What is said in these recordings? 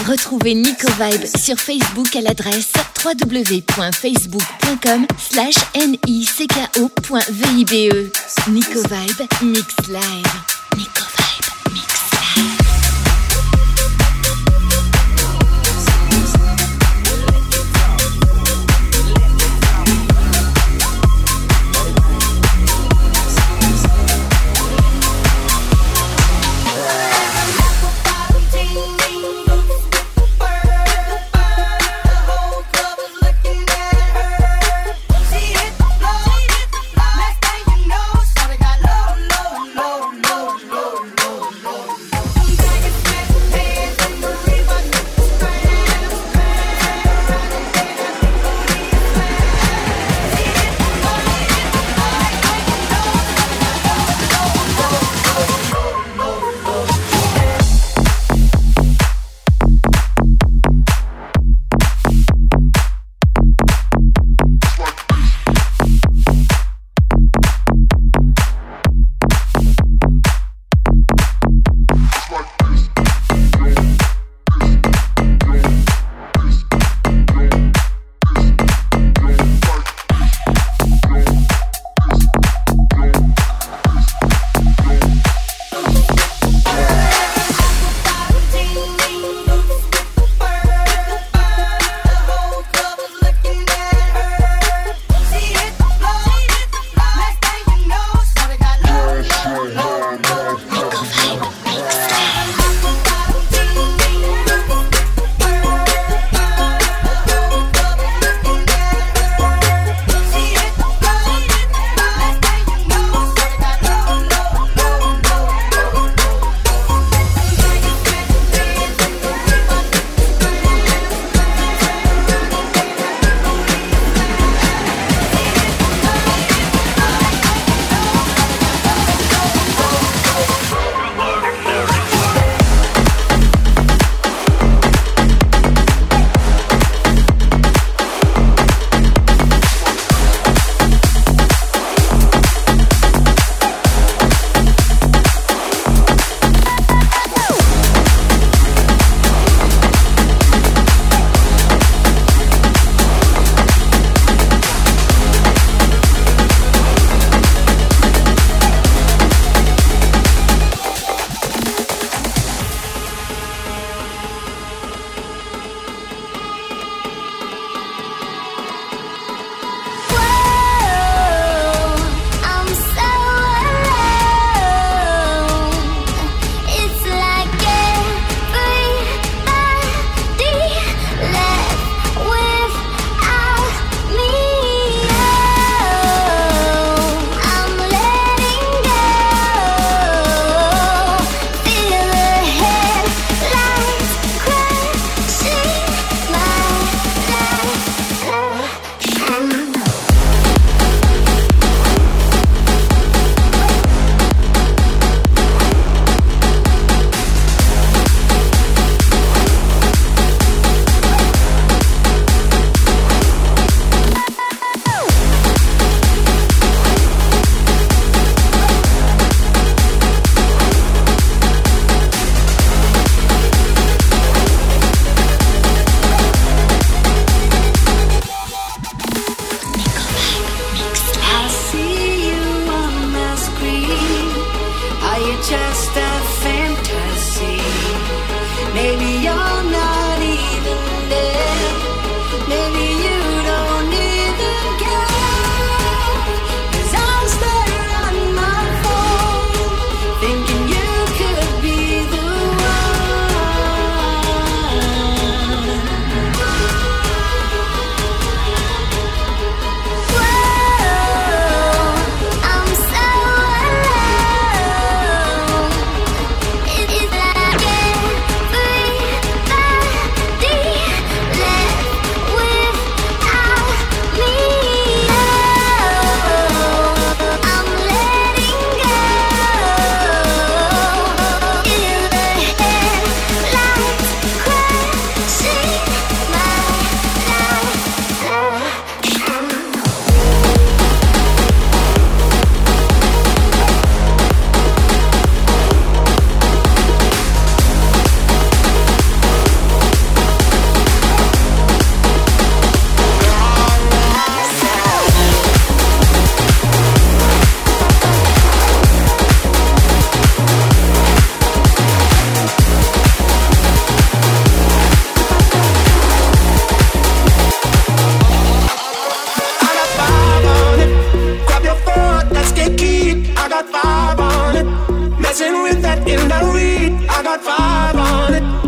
Retrouvez Nico Vibe sur Facebook à l'adresse www.facebook.com/nicko.vibe. Nico Vibe Mix Live. Nico Vibe Mix Live. Low, low,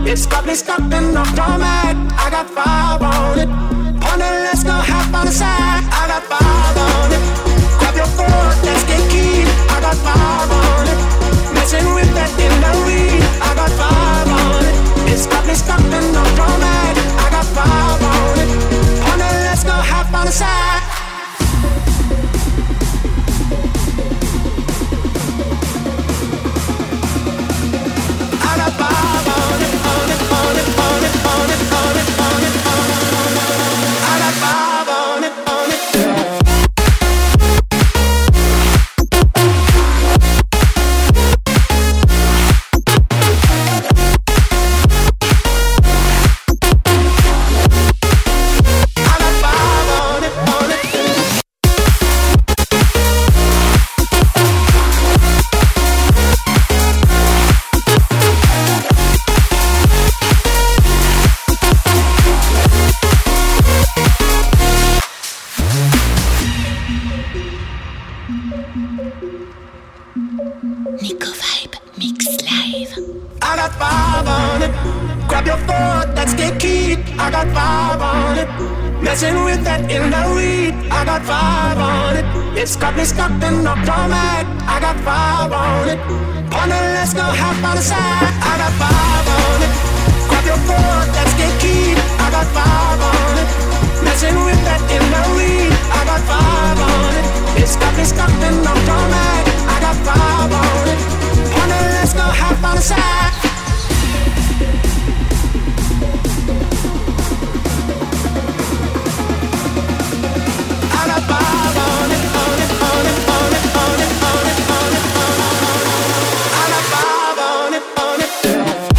It's got me stuck in the format. I got five on it. On it, let's go half on the side. I got five on it. Grab your foot, let's get keen. I got five on it. Messing with that in the weed. I got five on it. It's got me stuck in the format. I got five on it. On it, let's go half on the side. I got five on it, on it, on it, on it, on it, on it, on it, on it. I got five on it, on it. Nico Vibe Mix Live. I got five on it. Grab your foot, let's get keyed. I got five on it. Messing with that in the weed. I got five on it. It's got me stuck in the format. I got five on it. On it, let's go half on the side. I got five on it. Grab your foot, let's get keyed. I got five on it. Messing with that in the weed. I got five on it. It's got me stuck in the format. I got five on it. On it, let's go half on the side. I got five on it, on it, on it, on it, on it, on it, on it, on it. I got five on it, on it.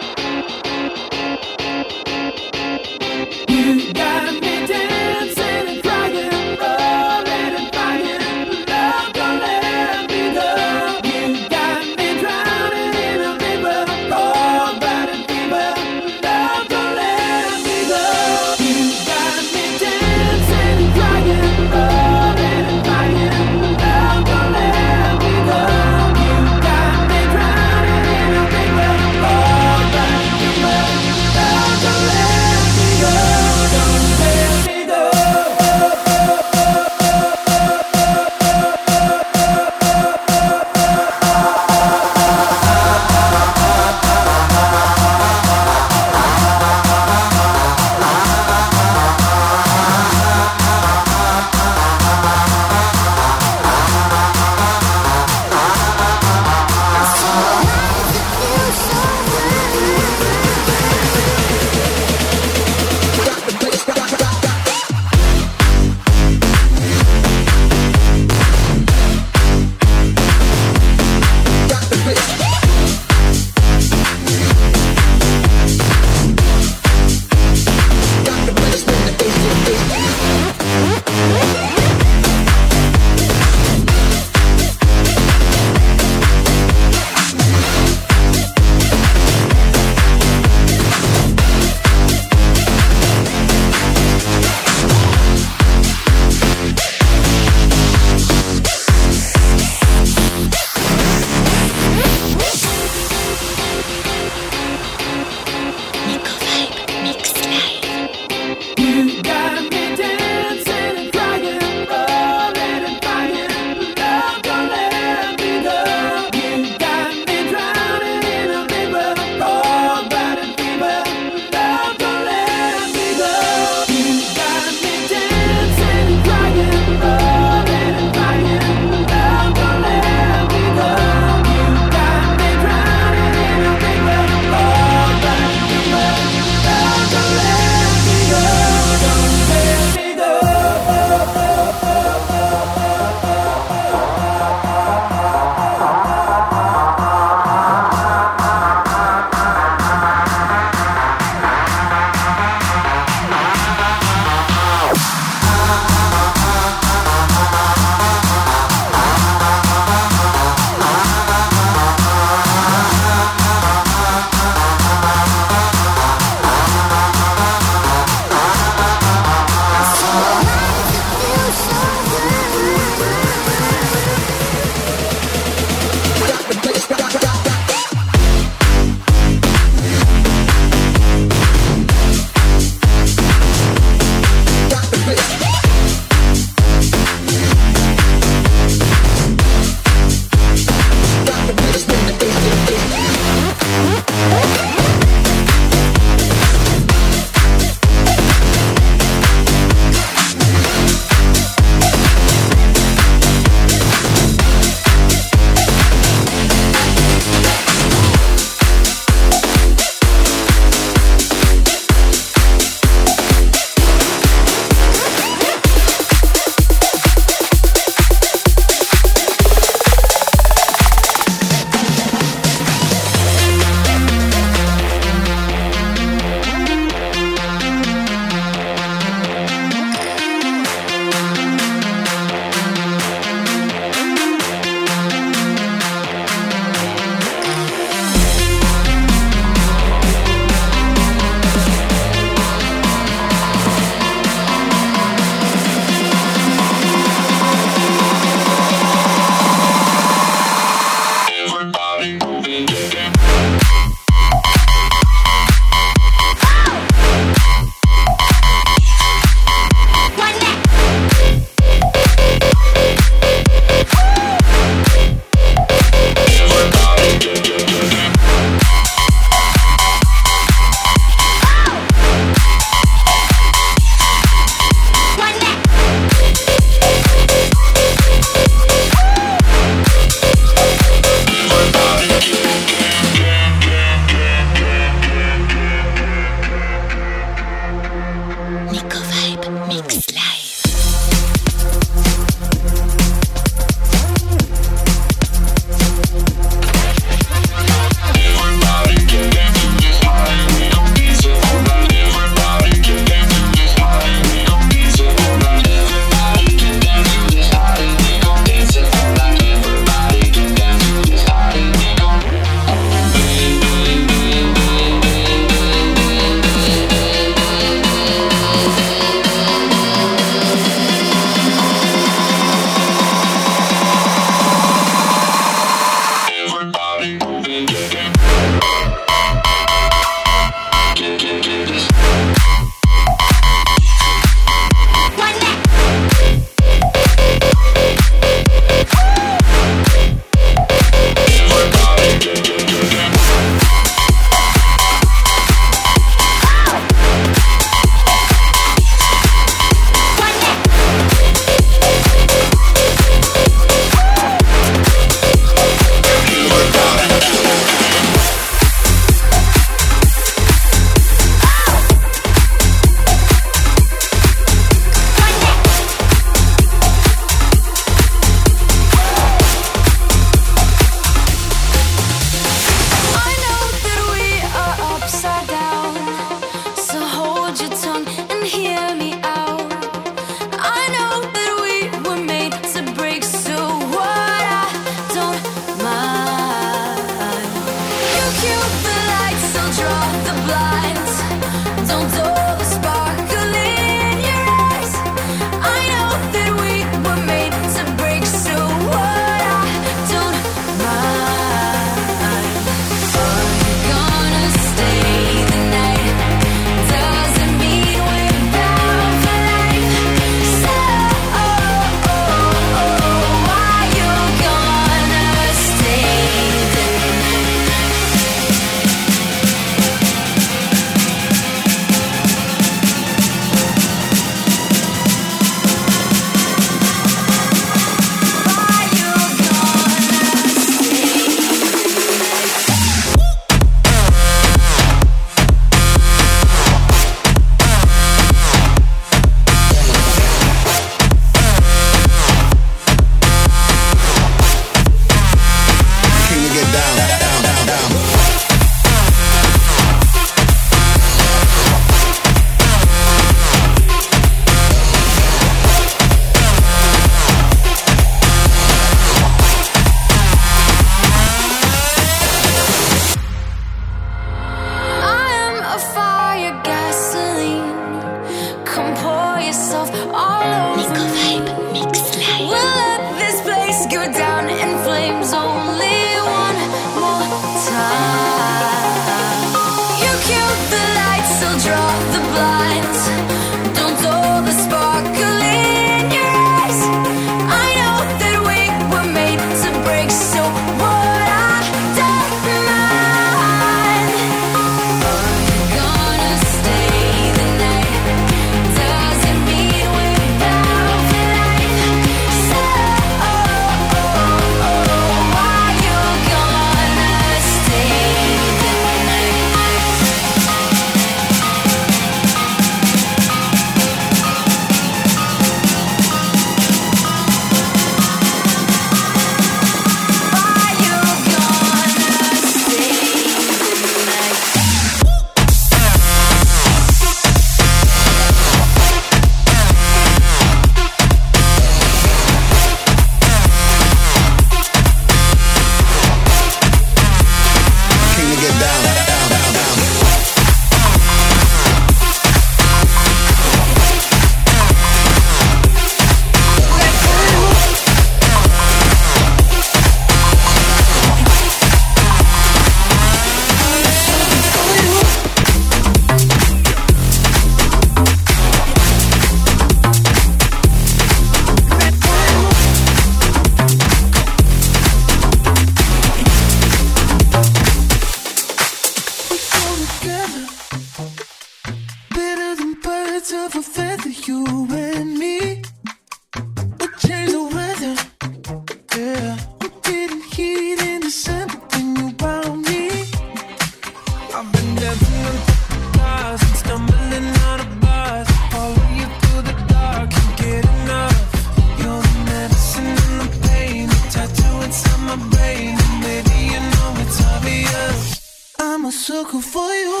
sucker for you.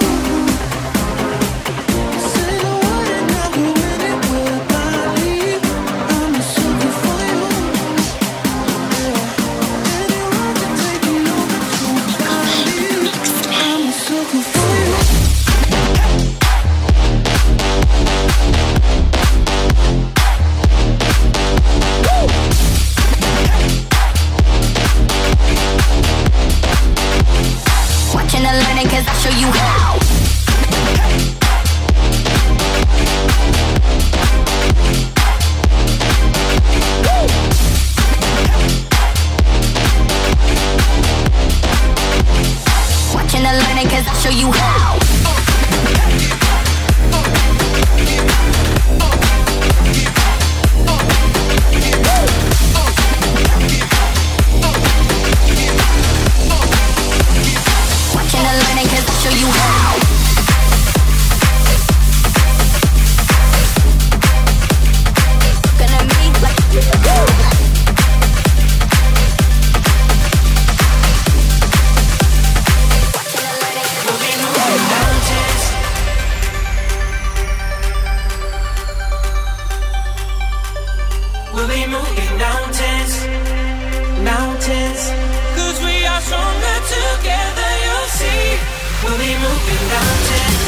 Say the word and I'll go anywhere I leave. I'm a sucker for you. Anyone to take me over to I leave. I'm a sucker for you. Watching and learning 'cause I'll show you how. Watching and learning 'cause I'll show you how. Watching and learning 'cause I'll show you how. Gonna be like We'll be moving mountains, mountains. 'Cause we are stronger together, you'll see. We'll be moving mountains,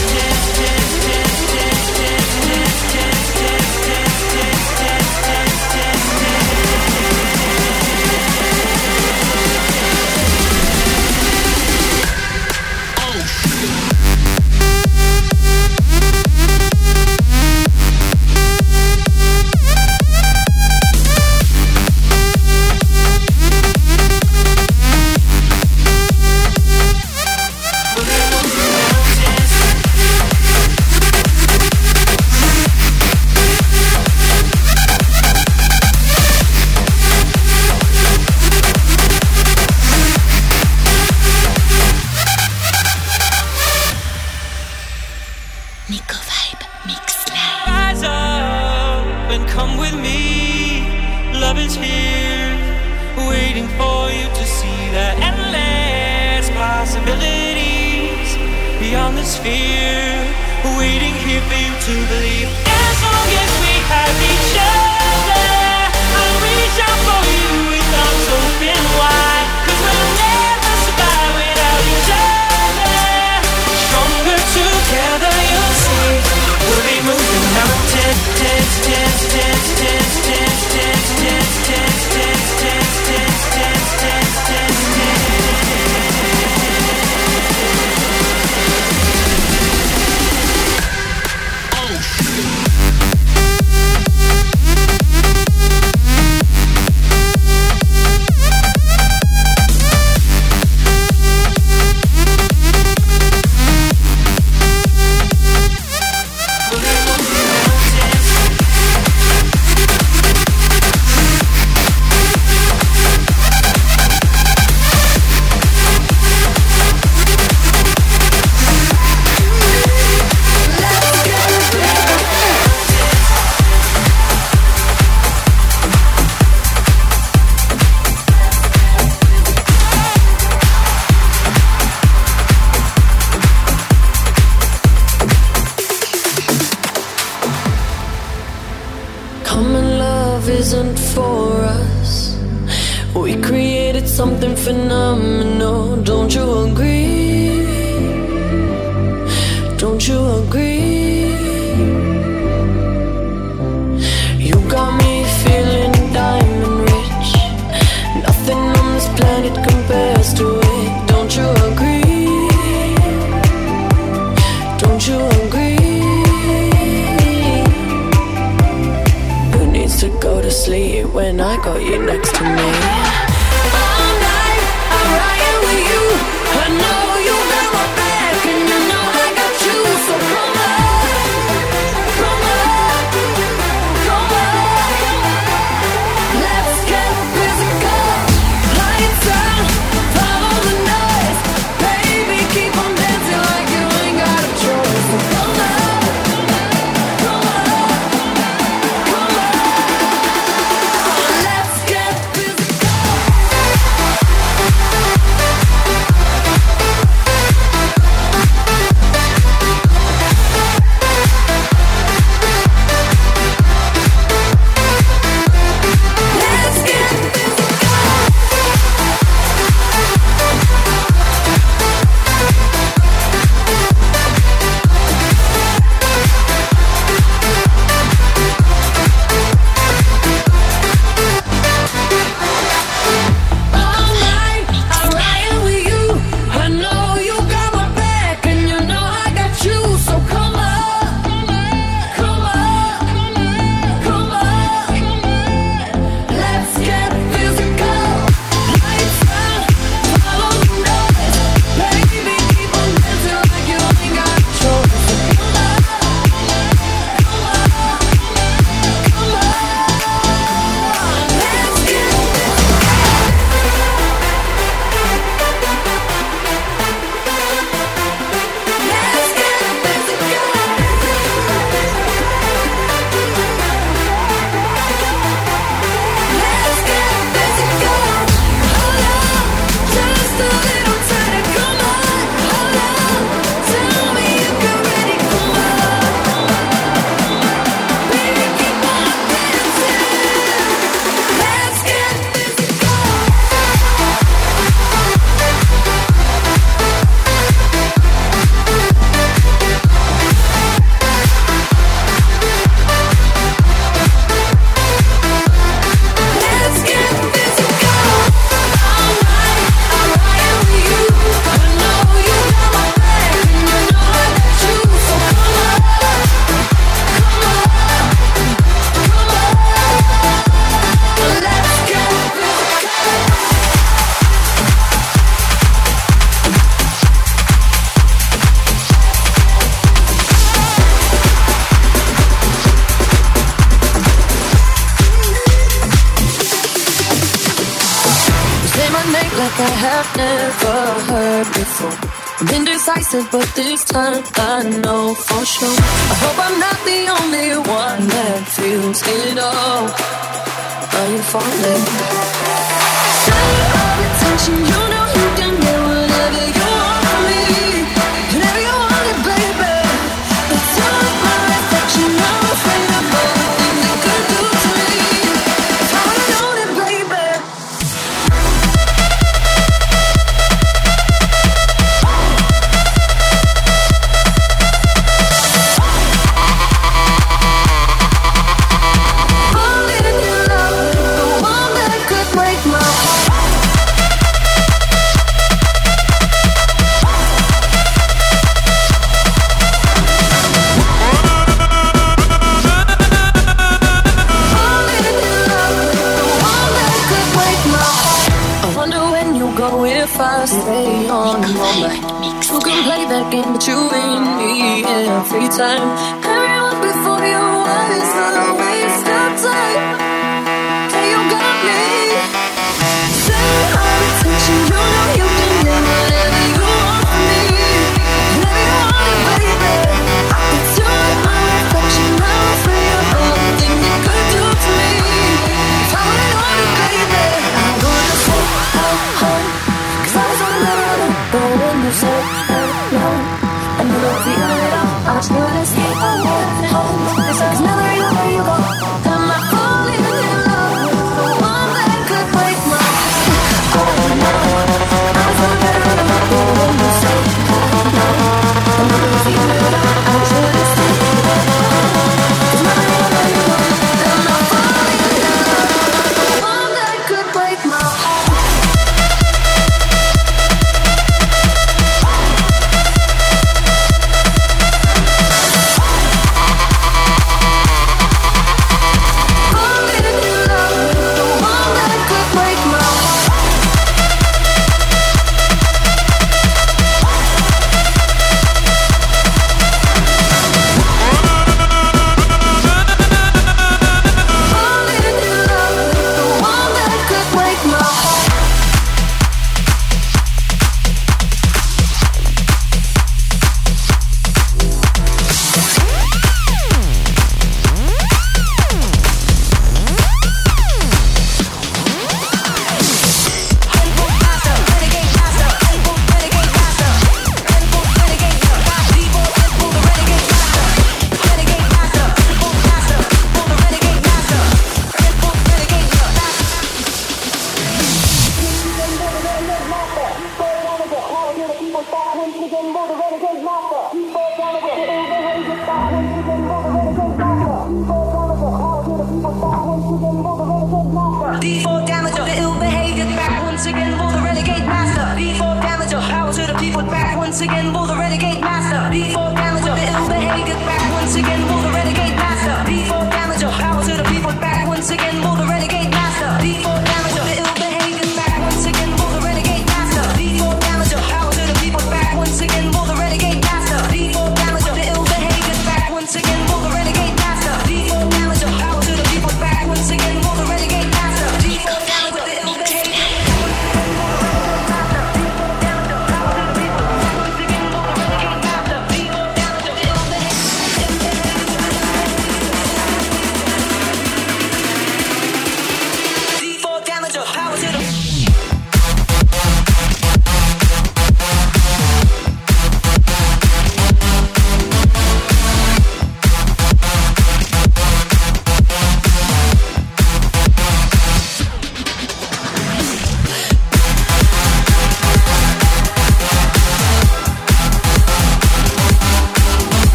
Nico Vibe Mix Live. rise up and come with me. Love is here, waiting for you to see the endless possibilities beyond this fear. Waiting here for you to believe. As long as we have each other, I'll reach out for you with arms open wide. 'Cause we'll never survive without each other. Stronger together, you'll see. We'll be moving mountains, Common love isn't for us. We created something phenomenal. Don't you agree? Don't you agree? You got me feeling diamond rich. Nothing on this planet compares to it. Don't you agree? Don't you agree? Who needs to go to sleep when I got you next to me? All night, I'm riding with you. I know you got my back, and you know I got you. So come on, come on, come on. Let's get physical. Lights out, follow the noise. Baby, keep on dancing like you ain't got a choice. So come on, come on, come on. Let's get physical. say my name like I have never heard before. I'm indecisive, but this time I know for sure. I hope I'm not the only one that feels it all. Are you falling? Center of attention, you know you can get whatever you want from me. Whenever you want it, baby. It's your my reflection, I'm afraid of everything you could do to me. If I would've known it, baby. If I stay on all night, who can play that game but you and me every time? Everyone before you was a waste of time. Hey, you got me. Center of attention, you know you can get whatever you want from me. Whenever you want it, baby. It's you and my reflection, I'm afraid of everything you could do to me. If I would've known it, baby, I'm gonna say home. But when you said no, I knew that the end all. I just knew to stay home. Cause now that I know where you go, am I falling in love with the one that could break my heart? Oh no, I was so better than my boy when you said no. I knew that the end all. I just knew to stay home. Cause now that I know where you go, am I falling in love with the one that could break my heart?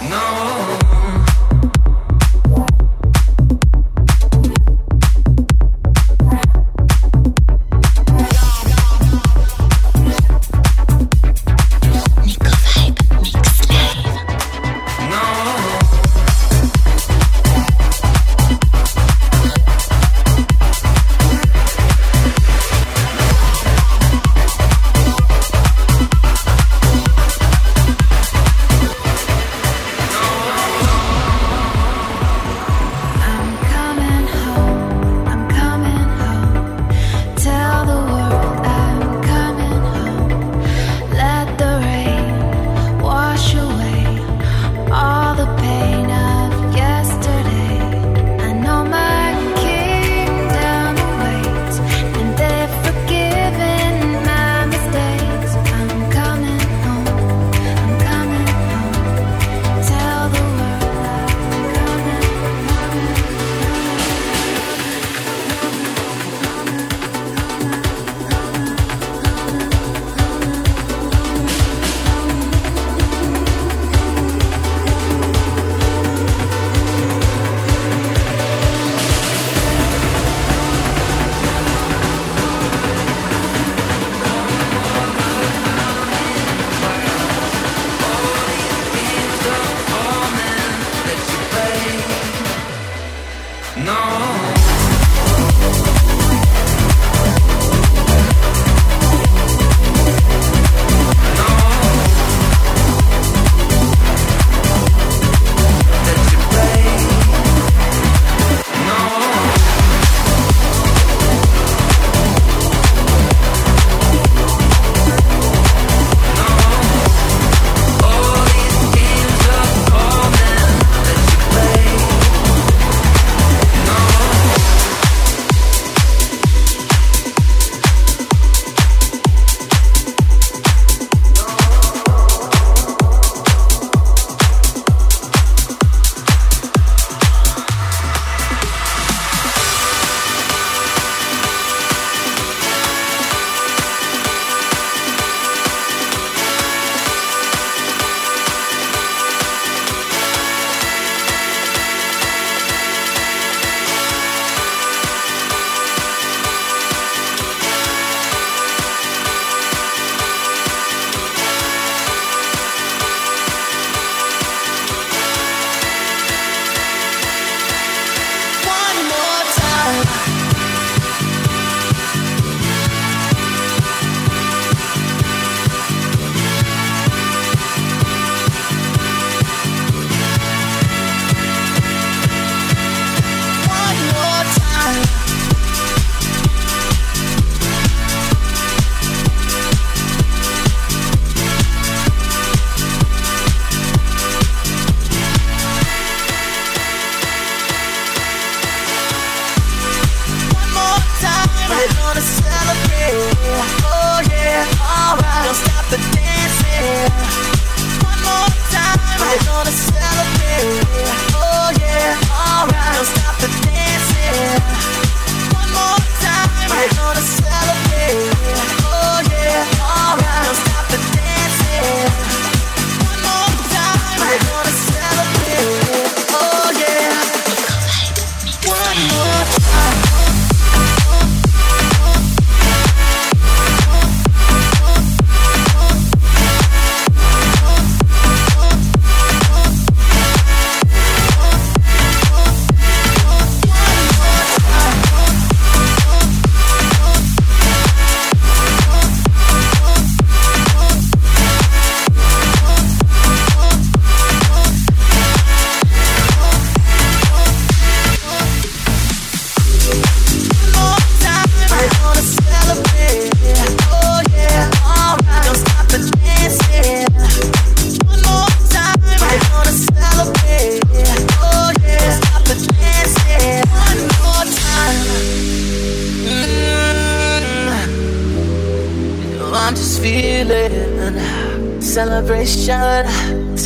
Celebration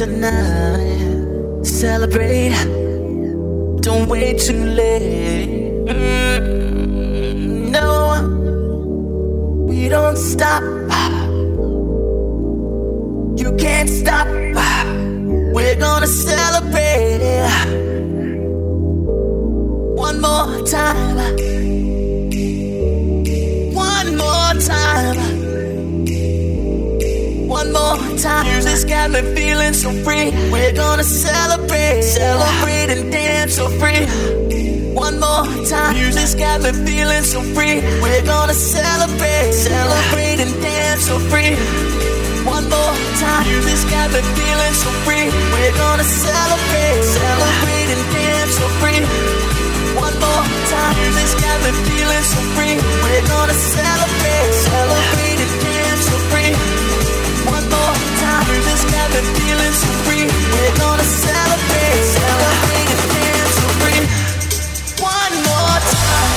tonight. Celebrate. Don't wait too late. No, we don't stop. You can't stop. We're gonna celebrate. time. One more time. One more time. Music's got me feeling so free. We're gonna celebrate, celebrate and dance so free. One more time. Music's got me feeling so free. We're gonna celebrate, celebrate and dance so free. One more time. Music's got me feeling so free. We're gonna celebrate, celebrate and dance so free. One more time. Music's got me feeling so free. We're gonna celebrate, celebrate and dance so free. One more time. Music's got me feeling so free. We're gonna celebrate, celebrate and dance so free. One more time.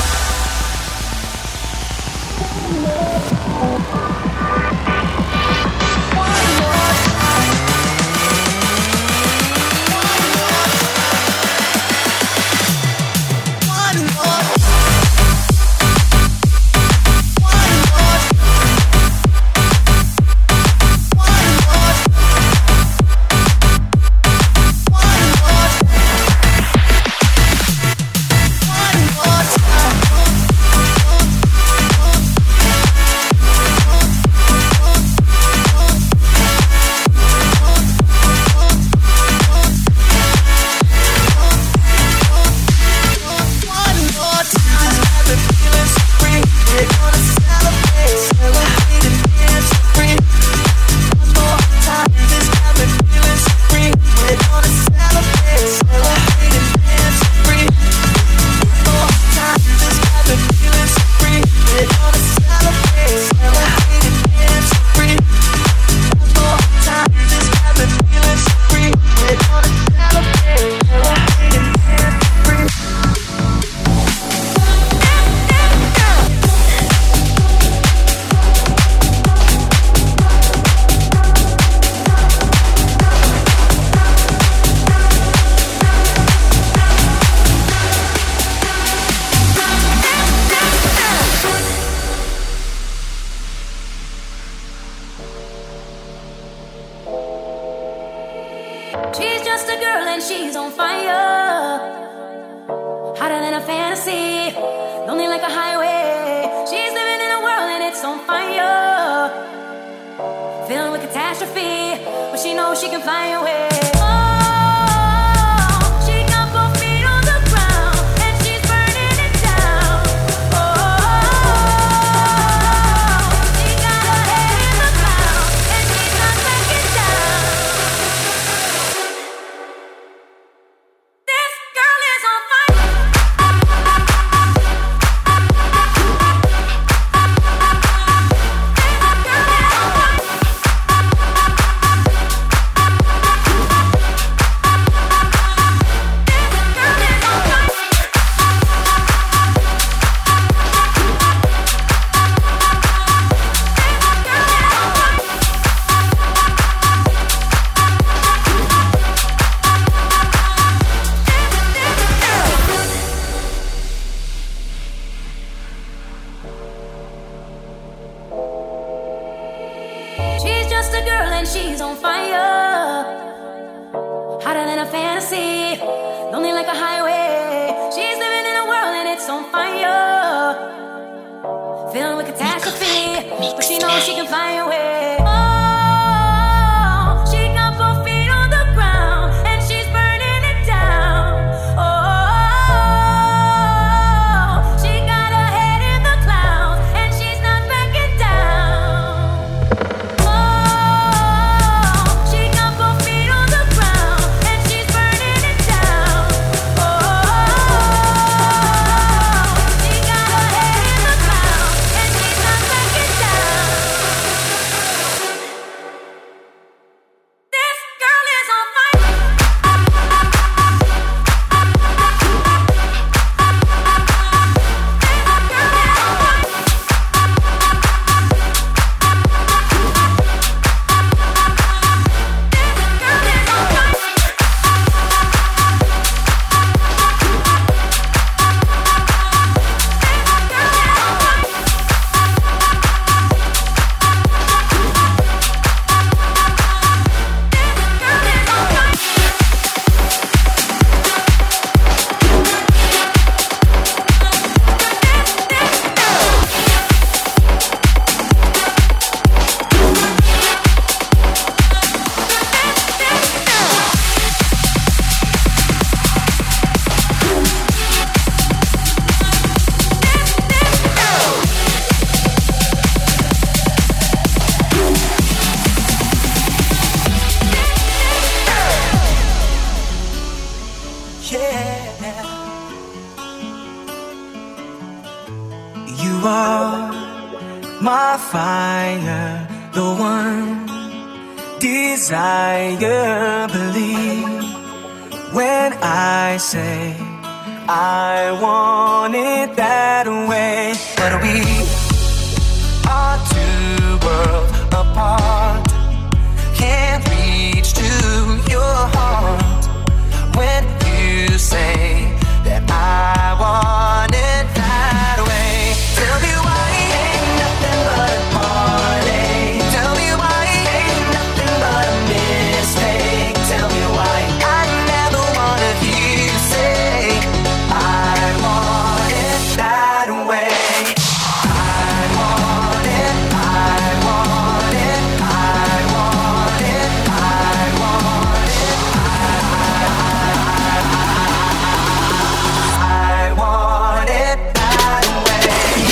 She's just a girl and she's on fire, hotter than a fantasy, lonely like a highway. She's living in a world and it's on fire, filled with catastrophe, but she knows she can fly away. She's just a girl and she's on fire, hotter than a fantasy, lonely like a highway. She's living in a world and it's on fire, filled with catastrophe, but she knows she can fly away. Oh, she got both feet on the ground and she's burning it down. Oh, she got her head in the clouds and she's not backing down. my fire, the one desire. Believe when I say I want it that way. But we are two worlds apart, can't reach to your heart when you say that I want it that way. Tell me why ain't nothing but a heartache. Tell me why ain't nothing but a mistake. Tell me why I never wanna hear you say I want it that way. I want it, I want it, I want it, I want it, I want it that way.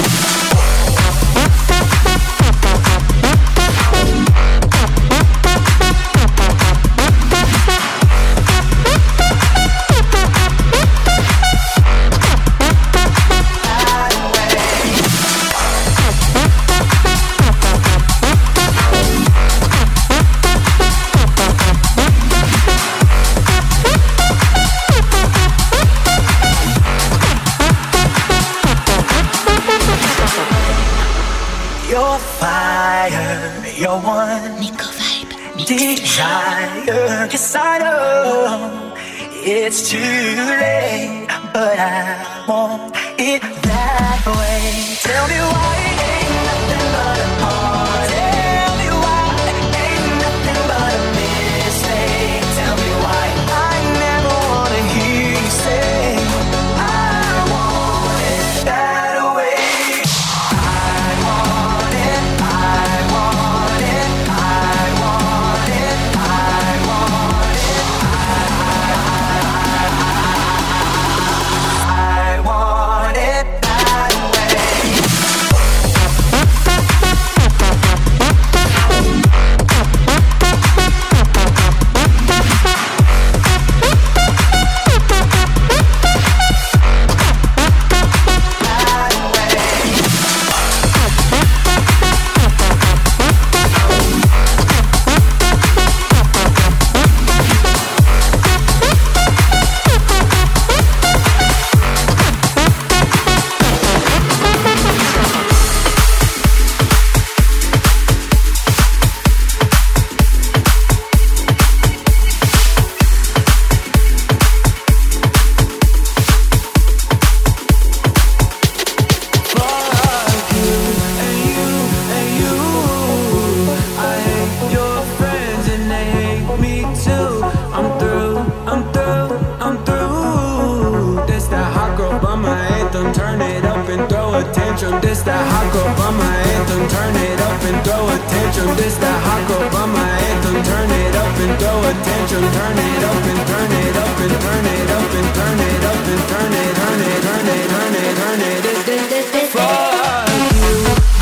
Your fire, your one Nico Vibe. desire. Yes, I know it's too late, but I want it that way. Tell me why ain't nothing but a heart. Tell me why ain't nothing but a mistake. Tell me why I never wanna hear you say I want it that way. I want it, I want it, I want it, I want it, I want it that way. This that hot girl by my anthem, turn it up and throw a tantrum. This that hot girl by my anthem, turn it up and throw a tantrum. Turn it up and turn it up and turn it up and turn it up and turn it, turn it, turn it, turn it, turn it. This fuck you.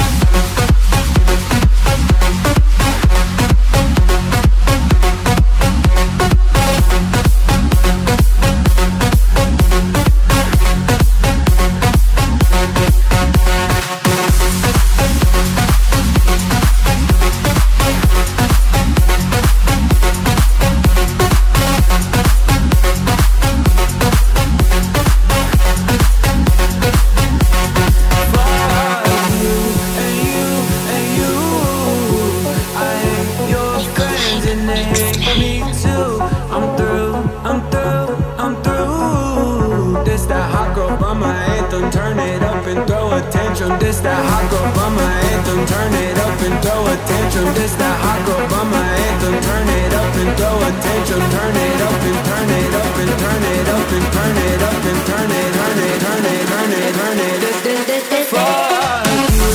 This that hot girl by my anthem, turn it up and throw a tantrum. This that hot girl by my anthem, turn it up and throw a tantrum. Turn it up and turn it up and turn it up and turn it up and turn it, turn it, turn it, turn it, turn it. This fuck you.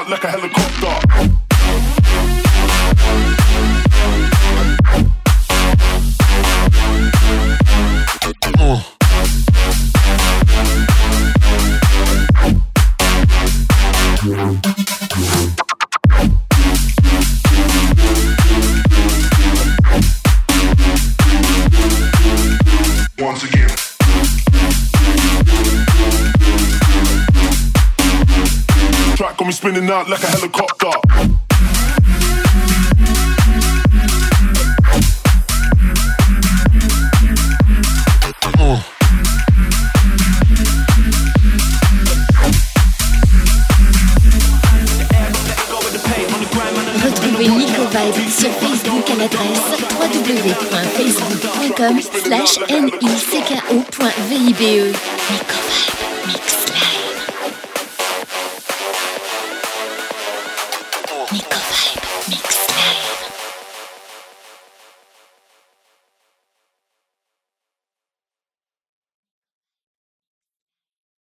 out like a helicopter. Once again. Track got me spinning out like a helicopter. Retrouvez Nico Vibe sur Facebook à l'adresse www.facebook.com/NICKO.VIBE. Nico Vibe Mix Live. Nico Vibe Mix Live.